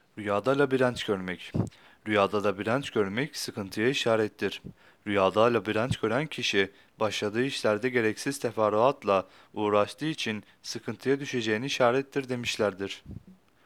Rüyada labirent görmek. Rüyada labirent görmek sıkıntıya işarettir. Rüyada labirent gören kişi başladığı işlerde gereksiz teferruatla uğraştığı için sıkıntıya düşeceğini işarettir demişlerdir.